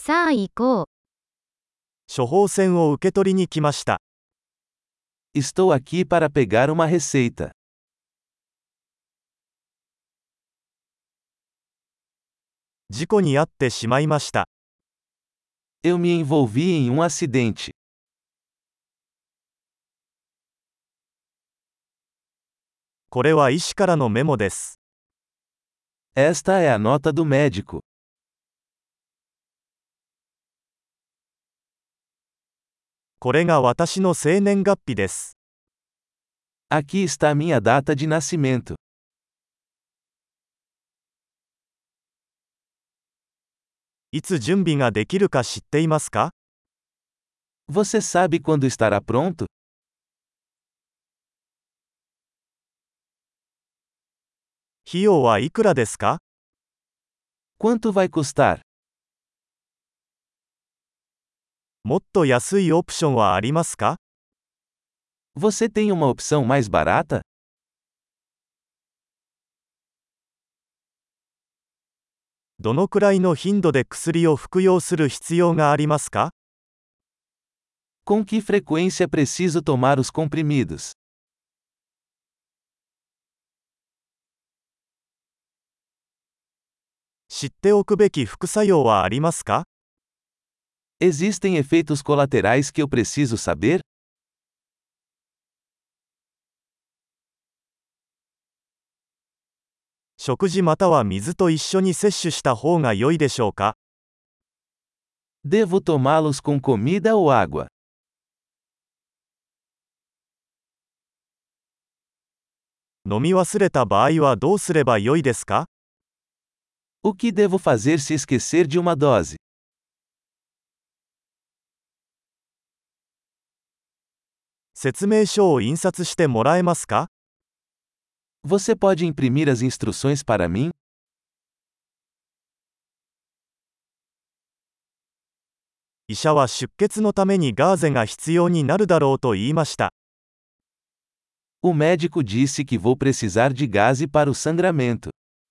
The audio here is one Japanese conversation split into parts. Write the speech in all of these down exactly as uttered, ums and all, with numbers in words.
さあ行こう。 処方箋を受け取りに来ました。 Estou aqui para pegar uma receita. 事故に遭ってしまいました。 Eu me envolvi em um acidente. これは医師からのメモです。 Esta é a nota do médico. これが私の生年月日です。 Aqui está minha data de nascimento. いつ準備ができるか知っていますか？ Você sabe quando estará pronto? 費用はいくらですか？ Quanto vai custar? もっと安いオプションはありますか？ Você tem uma opção mais barata? どのくらいの頻度で薬を服用する必要がありますか？ Com que frequência preciso tomar os comprimidos? 知っておくべき副作用はありますか？ Existem efeitos colaterais que eu preciso saber? 食事または水と一緒に摂取した方が良いでしょうか？ Devo tomá-los com comida ou água? 飲み忘れた場合はどうすれば良いですか？ O que devo fazer se esquecer de uma dose? 説明書を印刷してもらえますか？ Você pode imprimir as instruções para mim? 医者は出血のためにガーゼが必要になるだろうと言いました。 O médico disse que vou precisar de gaze para o sangramento.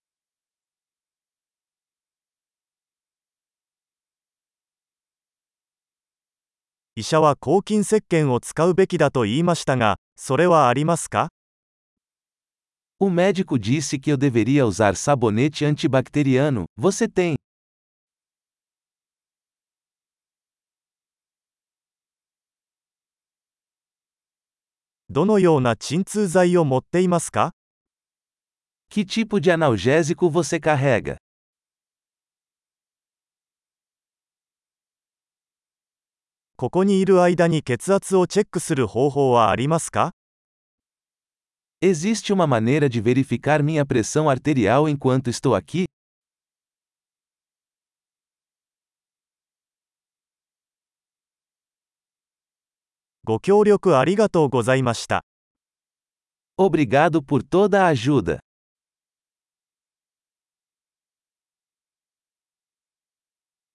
医者は抗菌石鹸を使うべきだと言いましたが、それはありますか？ O médico disse que eu deveria usar sabonete antibacteriano. Você tem? どのような鎮痛剤を持っていますか？ Que tipo de analgésico você carrega? ここにいる間に血圧をチェックする方法はありますか？ Existe uma maneira de verificar minha pressão arterial enquanto estou aqui? ご協力ありがとうございました。 Obrigado por toda a ajuda.